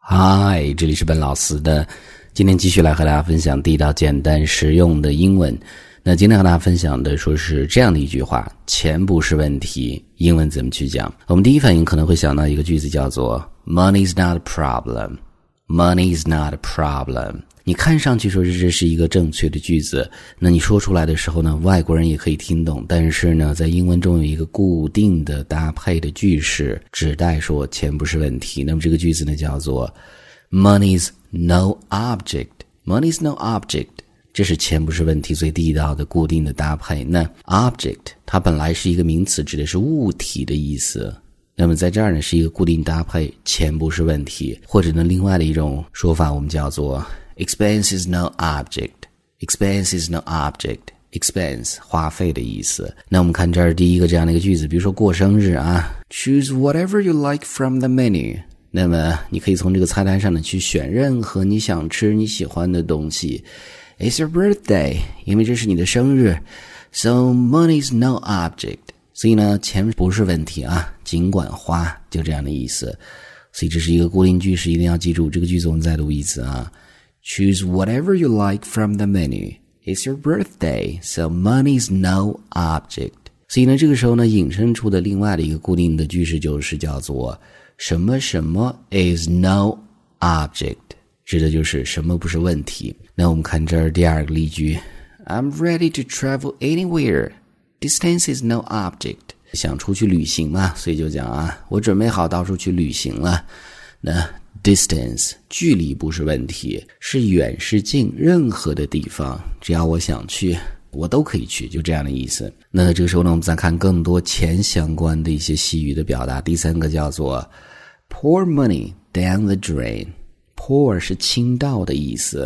嗨，这里是本老师的，今天继续来和大家分享地道简单实用的英文。那今天和大家分享的说是这样的一句话，钱不是问题，英文怎么去讲？我们第一反应可能会想到一个句子叫做 Money's not a problem. Money's not a problem. 你看上去说这是一个正确的句子，那你说出来的时候呢，外国人也可以听懂，但是呢，在英文中有一个固定的搭配的句式，指代说钱不是问题。那么这个句子呢叫做 Money's no object. Money's no object. 这是钱不是问题最地道的固定的搭配。那 object 它本来是一个名词，指的是物体的意思。那么在这儿呢是一个固定搭配，钱不是问题，或者呢另外的一种说法我们叫做 Expense is no object. Expense is no object. Expense 花费的意思。那我们看这儿第一个这样的一个句子，比如说过生日啊 Choose whatever you like from the menu. 那么你可以从这个菜单上呢去选任何你想吃你喜欢的东西。It's your birthday. 因为这是你的生日 So money's no object. 所以呢钱不是问题啊，尽管花，就这样的意思。所以这是一个固定句式，一定要记住。这个句子我们再读一次啊。Choose whatever you like from the menu. It's your birthday, so money's no object. 所以呢，这个时候呢，引申出的另外的一个固定的句式就是叫做什么什么 is no object， 指的就是什么不是问题。那我们看这儿第二个例句 I'm ready to travel anywhere. Distance is no object. 想出去旅行嘛，所以就讲啊，我准备好到处去旅行了。那Distance 距离不是问题，是远是近，任何的地方只要我想去我都可以去，就这样的意思。那这个时候呢，我们再看更多钱相关的一些西语的表达。第三个叫做 Pour money down the drain. Pour 是倾倒的意思，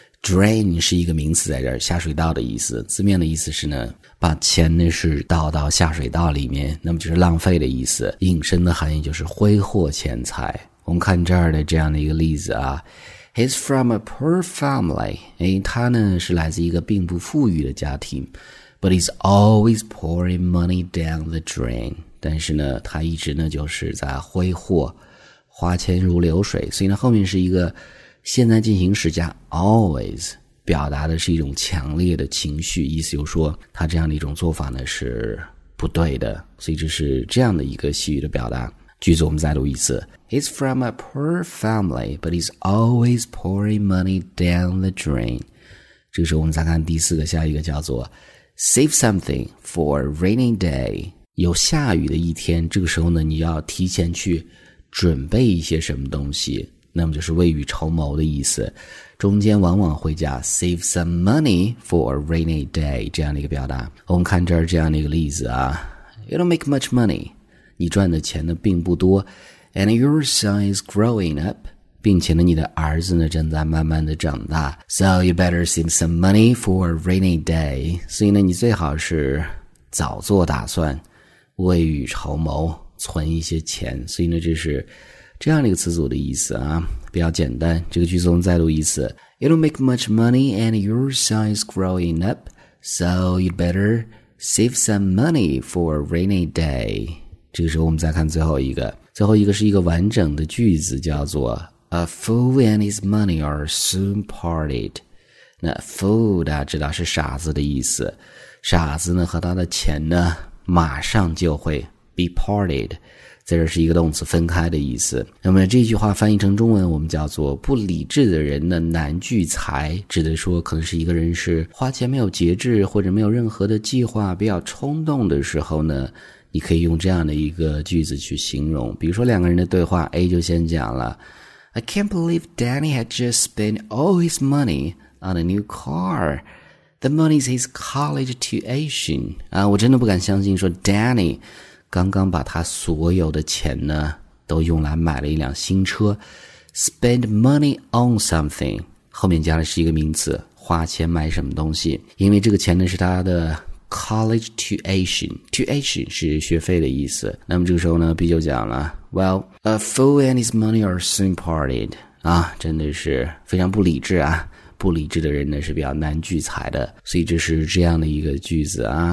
Drain 是一个名词在这儿，下水道的意思。字面的意思是呢，把钱呢是倒到下水道里面，那么就是浪费的意思。引申的含义就是挥霍钱财。我们看这儿的这样的一个例子啊 He's from a poor family. 他呢是来自一个并不富裕的家庭 But he's always pouring money down the drain. 但是呢他一直呢就是在挥霍，花钱如流水。所以呢后面是一个现在进行时加 always， 表达的是一种强烈的情绪，意思就是说他这样的一种做法呢是不对的。所以这是这样的一个西语的表达。句子我们再读一次 He's from a poor family, but he's always pouring money down the drain. 这个时候我们再看第四个，下一个叫做 Save something for a rainy day. 有下雨的一天，这个时候呢你要提前去准备一些什么东西，那么就是未雨绸缪的意思。中间往往会加 Save some money for a rainy day 这样的一个表达。我们看这儿这样的一个例子啊 You don't make much money.你赚的钱呢并不多 And your son is growing up 并且呢你的儿子呢正在慢慢的长大 So you better save some money for a rainy day 所以呢你最好是早做打算，未雨绸缪，存一些钱。所以呢这是这样的一个词组的意思啊，比较简单。这个句子我们再读一次 You don't make much money and your son is growing up So you better save some money for a rainy day。这个时候我们再看最后一个是一个完整的句子，叫做 A fool and his money are soon parted. 那 fool 大家知道是傻子的意思，傻子呢和他的钱呢马上就会 be parted， 在这是一个动词分开的意思。那么这句话翻译成中文我们叫做不理智的人呢难聚财，指的说可能是一个人是花钱没有节制，或者没有任何的计划，比较冲动的时候呢，你可以用这样的一个句子去形容。比如说两个人的对话 A 就先讲了 I can't believe Danny had just spent all his money on a new car. The money's his college tuition. 我真的不敢相信说 Danny 刚刚把他所有的钱呢都用来买了一辆新车。 Spend money on something 后面加的是一个名词，花钱买什么东西，因为这个钱呢是他的College tuition 是学费的意思。那么这个时候呢 B 就讲了 Well, a fool and his money are soon parted. 真的是非常不理智啊，不理智的人呢是比较难聚财的。所以这是这样的一个句子啊。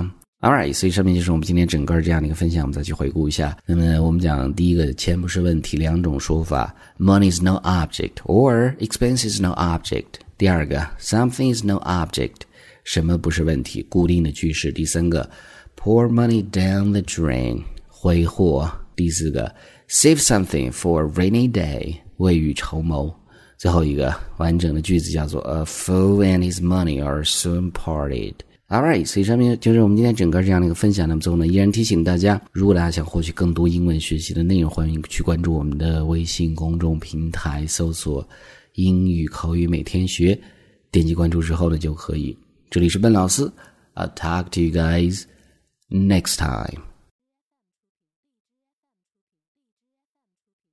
Alright， 所以上面就是我们今天整个这样的一个分享，我们再去回顾一下。那么我们讲第一个，钱不是问题，两种说法 ，money is no object or expense is no object。第二个 ，something is no object， 什么不是问题，固定的句式。第三个 ，pour money down the drain， 挥霍。第四个 ，save something for a rainy day， 未雨绸缪。最后一个完整的句子叫做 A fool and his money are soon parted。Alright， 所以上面就是我们今天整个这样的一个分享。那么最后呢，依然提醒大家，如果大家想获取更多英文学习的内容，欢迎去关注我们的微信公众平台，搜索英语口语每天学，点击关注之后呢就可以。这里是笨老师，I'll talk to you guys next time.